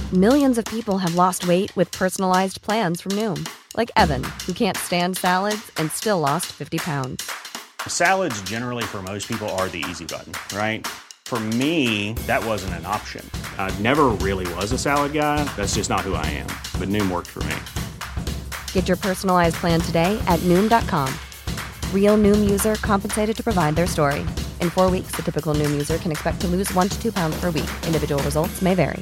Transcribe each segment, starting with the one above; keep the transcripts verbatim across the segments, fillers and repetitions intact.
Millions of people have lost weight with personalized plans from Noom. Like Evan, who can't stand salads and still lost fifty pounds. Salads generally for most people are the easy button, right? For me, that wasn't an option. I never really was a salad guy. That's just not who I am. But Noom worked for me. Get your personalized plan today at Noom dot com. Real Noom user compensated to provide their story. In four weeks, the typical Noom user can expect to lose one to two pounds per week. Individual results may vary.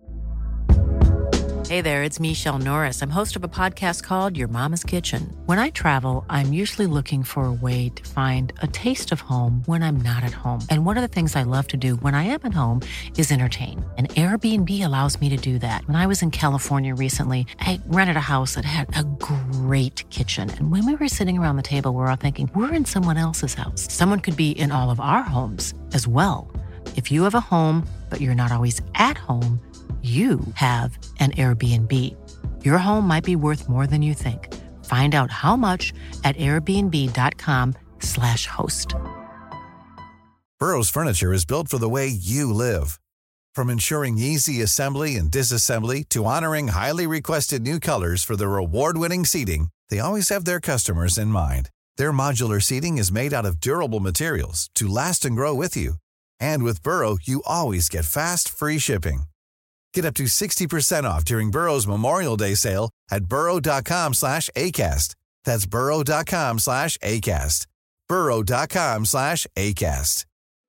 Hey there, it's Michelle Norris. I'm host of a podcast called Your Mama's Kitchen. When I travel, I'm usually looking for a way to find a taste of home when I'm not at home. And one of the things I love to do when I am at home is entertain. And Airbnb allows me to do that. When I was in California recently, I rented a house that had a great kitchen. And when we were sitting around the table, we were all thinking, we're in someone else's house. Someone could be in all of our homes as well. If you have a home, but you're not always at home, you have an Airbnb. Your home might be worth more than you think. Find out how much at airbnb.com slash host. Burrow's furniture is built for the way you live. From ensuring easy assembly and disassembly to honoring highly requested new colors for their award-winning seating, they always have their customers in mind. Their modular seating is made out of durable materials to last and grow with you. And with Burrow, you always get fast, free shipping. Get up to sixty percent off during Burrow's Memorial Day sale at burrow.com slash ACAST. That's burrow.com slash ACAST. burrow.com slash ACAST.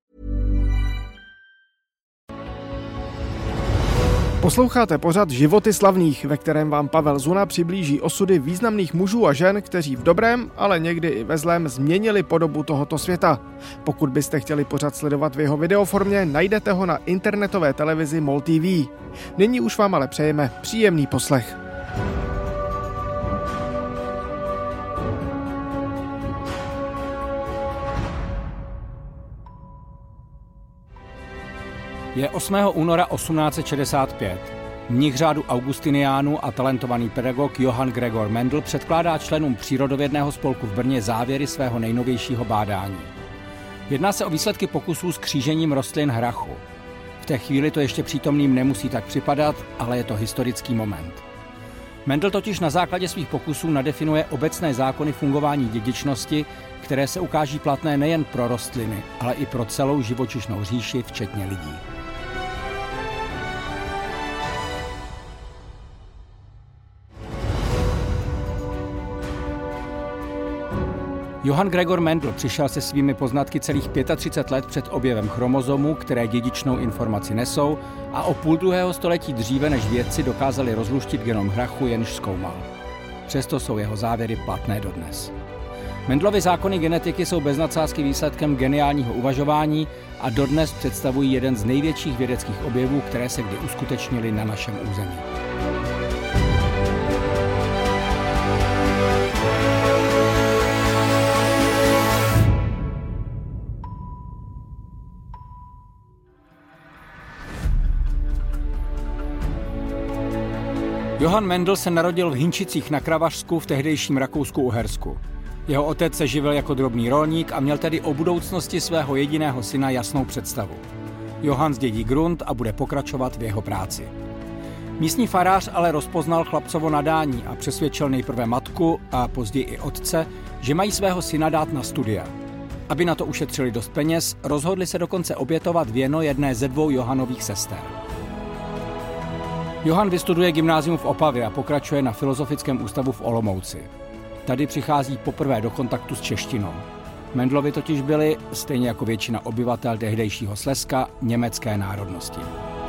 Posloucháte pořad Životy slavných, ve kterém vám Pavel Zuna přiblíží osudy významných mužů a žen, kteří v dobrém, ale někdy i ve zlém změnili podobu tohoto světa. Pokud byste chtěli pořad sledovat v jeho videoformě, najdete ho na internetové televizi MOL T V. Nyní už vám ale přejeme příjemný poslech. Je osmého února osmnáct set šedesát pět. Mnich řádu Augustiniánů a talentovaný pedagog Johann Gregor Mendel předkládá členům přírodovědného spolku v Brně závěry svého nejnovějšího bádání. Jedná se o výsledky pokusů s křížením rostlin hrachu. V té chvíli to ještě přítomným nemusí tak připadat, ale je to historický moment. Mendel totiž na základě svých pokusů nadefinuje obecné zákony fungování dědičnosti, které se ukáží platné nejen pro rostliny, ale i pro celou živočišnou říši, včetně lidí. Johann Gregor Mendel přišel se svými poznatky celých třicet pět let před objevem chromozomů, které dědičnou informaci nesou, a o půl druhého století dříve, než vědci dokázali rozluštit genom hrachu, jenž zkoumal. Přesto jsou jeho závěry platné dodnes. Mendelovy zákony genetiky jsou bez nadsázky výsledkem geniálního uvažování a dodnes představují jeden z největších vědeckých objevů, které se kdy uskutečnily na našem území. Johann Mendel se narodil v Hinčicích na Kravařsku v tehdejším Rakousku-Uhersku. Jeho otec se živil jako drobný rolník a měl tedy o budoucnosti svého jediného syna jasnou představu. Johann zdědí grunt a bude pokračovat v jeho práci. Místní farář ale rozpoznal chlapcovo nadání a přesvědčil nejprve matku a později i otce, že mají svého syna dát na studia. Aby na to ušetřili dost peněz, rozhodli se dokonce obětovat věno jedné ze dvou Johannových sester. Johann vystuduje gymnázium v Opavě a pokračuje na Filozofickém ústavu v Olomouci. Tady přichází poprvé do kontaktu s češtinou. Mendelovi totiž byli, stejně jako většina obyvatel tehdejšího Slezska, německé národnosti.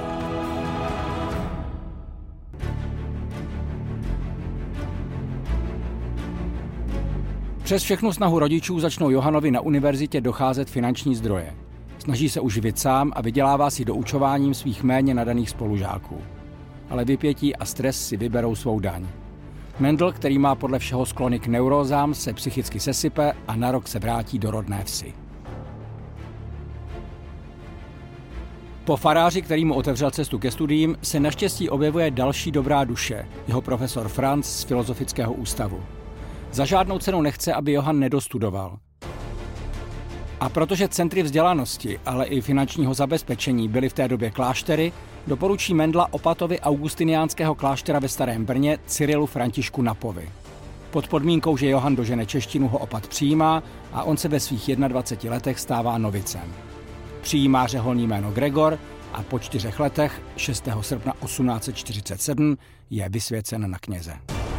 Přes všechnu snahu rodičů začnou Johannovi na univerzitě docházet finanční zdroje. Snaží se uživit sám a vydělává si doučováním svých méně nadaných spolužáků. Ale vypětí a stres si vyberou svou daň. Mendel, který má podle všeho sklony k neurózám, se psychicky sesype a na rok se vrátí do rodné vsi. Po faráři, který mu otevřel cestu ke studiím, se naštěstí objevuje další dobrá duše, jeho profesor Franz z Filozofického ústavu. Za žádnou cenu nechce, aby Johann nedostudoval. A protože centry vzdělanosti, ale i finančního zabezpečení byly v té době kláštery, doporučí Mendla opatovi augustiniánského kláštera ve Starém Brně Cyrilu Františku Napovi. Pod podmínkou, že Johann dožene češtinu, ho opat přijímá a on se ve svých dvaceti jedné letech stává novicem. Přijímá řeholní jméno Gregor a po čtyřech letech, šestého srpna osmnáct set čtyřicet sedm, je vysvěcen na kněze.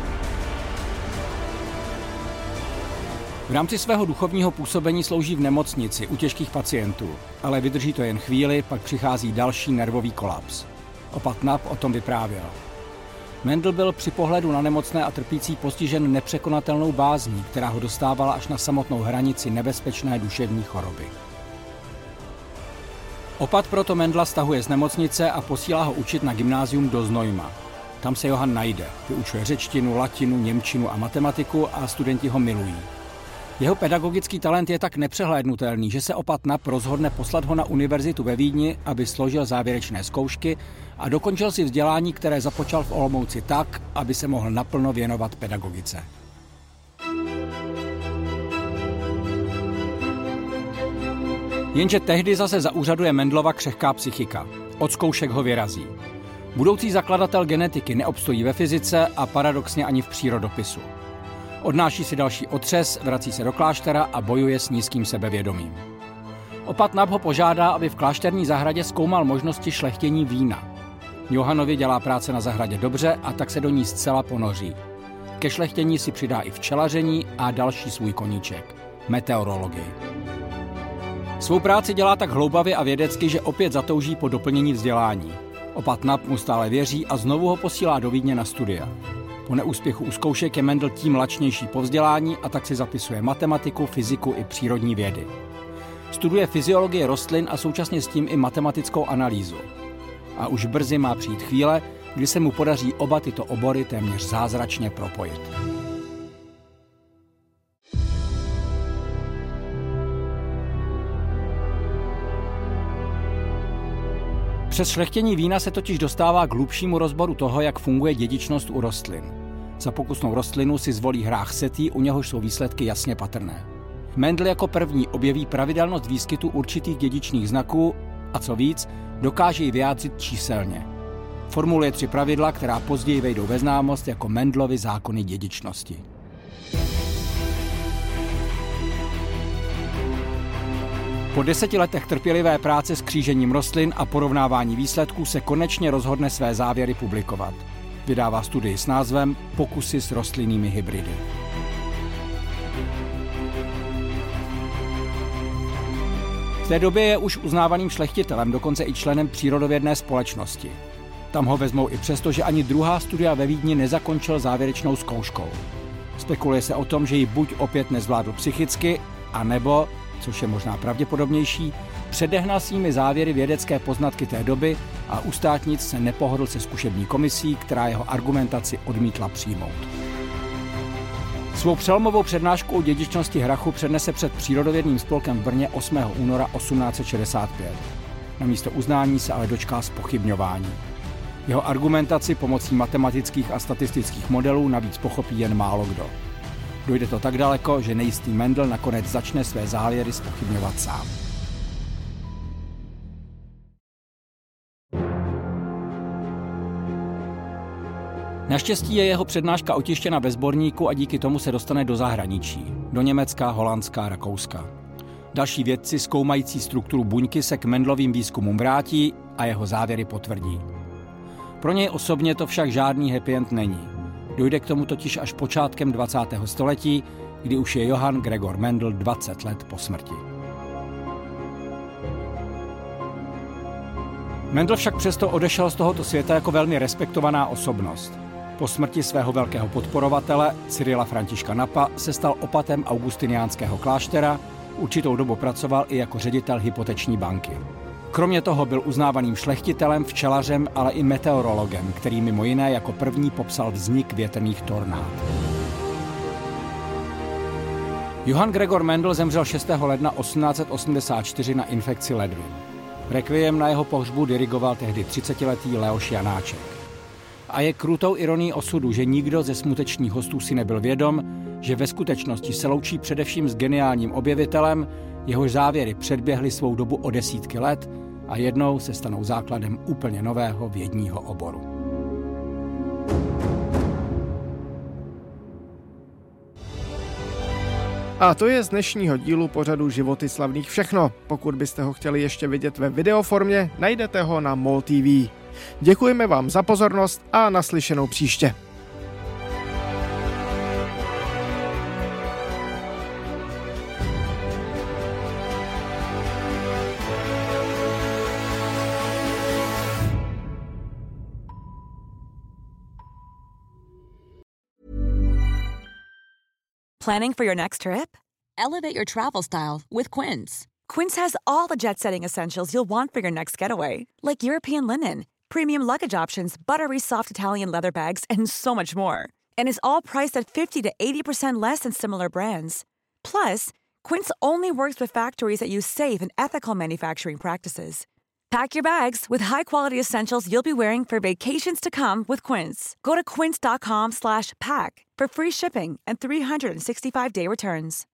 V rámci svého duchovního působení slouží v nemocnici u těžkých pacientů, ale vydrží to jen chvíli, pak přichází další nervový kolaps. Opat Nap o tom vyprávěl. Mendl byl při pohledu na nemocné a trpící postižen nepřekonatelnou bázní, která ho dostávala až na samotnou hranici nebezpečné duševní choroby. Opat proto Mendla stahuje z nemocnice a posílá ho učit na gymnázium do Znojma. Tam se Johann najde, vyučuje řečtinu, latinu, němčinu a matematiku a studenti ho milují. Jeho pedagogický talent je tak nepřehlédnutelný, že se opat Nap rozhodne poslat ho na univerzitu ve Vídni, aby složil závěrečné zkoušky a dokončil si vzdělání, které započal v Olomouci tak, aby se mohl naplno věnovat pedagogice. Jenže tehdy zase zaúřaduje Mendlova křehká psychika. Od zkoušek ho vyrazí. Budoucí zakladatel genetiky neobstojí ve fyzice a paradoxně ani v přírodopisu. Odnáší si další otřes, vrací se do kláštera a bojuje s nízkým sebevědomím. Opat Nap ho požádá, aby v klášterní zahradě zkoumal možnosti šlechtění vína. Johannovi dělá práce na zahradě dobře a tak se do ní zcela ponoří. Ke šlechtění si přidá i včelaření a další svůj koníček – meteorologii. Svou práci dělá tak hloubavě a vědecky, že opět zatouží po doplnění vzdělání. Opat Nap mu stále věří a znovu ho posílá do Vídně na studia. Po neúspěchu u zkoušek je Mendl tím lačnější po vzdělání a tak si zapisuje matematiku, fyziku i přírodní vědy. Studuje fyziologii rostlin a současně s tím i matematickou analýzu. A už brzy má přijít chvíle, kdy se mu podaří oba tyto obory téměř zázračně propojit. Přes šlechtění vína se totiž dostává k hlubšímu rozboru toho, jak funguje dědičnost u rostlin. Za pokusnou rostlinu si zvolí hrách setý, u něhož jsou výsledky jasně patrné. Mendl jako první objeví pravidelnost výskytu určitých dědičných znaků a co víc, dokáže ji vyjádřit číselně. Formuluje tři pravidla, která později vejdou ve známost jako Mendlovy zákony dědičnosti. Po deseti letech trpělivé práce s křížením rostlin a porovnávání výsledků se konečně rozhodne své závěry publikovat. Vydává studii s názvem Pokusy s rostlinnými hybridy. V té době je už uznávaným šlechtitelem, dokonce i členem přírodovědné společnosti. Tam ho vezmou i přesto, že ani druhá studia ve Vídni nezakončil závěrečnou zkouškou. Spekuluje se o tom, že ji buď opět nezvládl psychicky, anebo, což je možná pravděpodobnější, předehnal svými závěry vědecké poznatky té doby a u státnic se nepohodl se zkušební komisí, která jeho argumentaci odmítla přijmout. Svou přelomovou přednášku o dědičnosti hrachu přednese před Přírodovědným spolkem v Brně osmého února osmnáct set šedesát pět. Na místo uznání se ale dočká zpochybňování. Jeho argumentaci pomocí matematických a statistických modelů navíc pochopí jen málo kdo. Dojde to tak daleko, že nejistý Mendl nakonec začne své závěry zpochybňovat sám. Naštěstí je jeho přednáška otištěna ve sborníku a díky tomu se dostane do zahraničí. Do Německa, Holandska, Rakouska. Další vědci zkoumající strukturu buňky se k Mendlovým výzkumům vrátí a jeho závěry potvrdí. Pro něj osobně to však žádný happy end není. Dojde k tomu totiž až počátkem dvacátého století, kdy už je Johann Gregor Mendl dvacet let po smrti. Mendl však přesto odešel z tohoto světa jako velmi respektovaná osobnost. Po smrti svého velkého podporovatele, Cyrila Františka Napa, se stal opatem augustiniánského kláštera, určitou dobu pracoval i jako ředitel hypoteční banky. Kromě toho byl uznávaným šlechtitelem, včelařem, ale i meteorologem, který mimo jiné jako první popsal vznik větrných tornád. Johann Gregor Mendl zemřel šestého ledna osmnáct set osmdesát čtyři na infekci ledvin. Requiem na jeho pohřbu dirigoval tehdy třicetiletý Leoš Janáček. A je krutou ironií osudu, že nikdo ze smutečných hostů si nebyl vědom, že ve skutečnosti se loučí především s geniálním objevitelem, jehož závěry předběhly svou dobu o desítky let a jednou se stanou základem úplně nového vědního oboru. A to je z dnešního dílu pořadu Životy slavných všechno. Pokud byste ho chtěli ještě vidět ve videoformě, najdete ho na MOL T V. Děkujeme vám za pozornost a naslyšenou příště. Planning for your next trip? Elevate your travel style with Quince. Quince has all the jet-setting essentials you'll want for your next getaway, like European linen, premium luggage options, buttery soft Italian leather bags, and so much more. And is all priced at fifty to eighty percent less than similar brands. Plus, Quince only works with factories that use safe and ethical manufacturing practices. Pack your bags with high-quality essentials you'll be wearing for vacations to come with Quince. Go to quince.com slash pack for free shipping and three sixty-five day returns.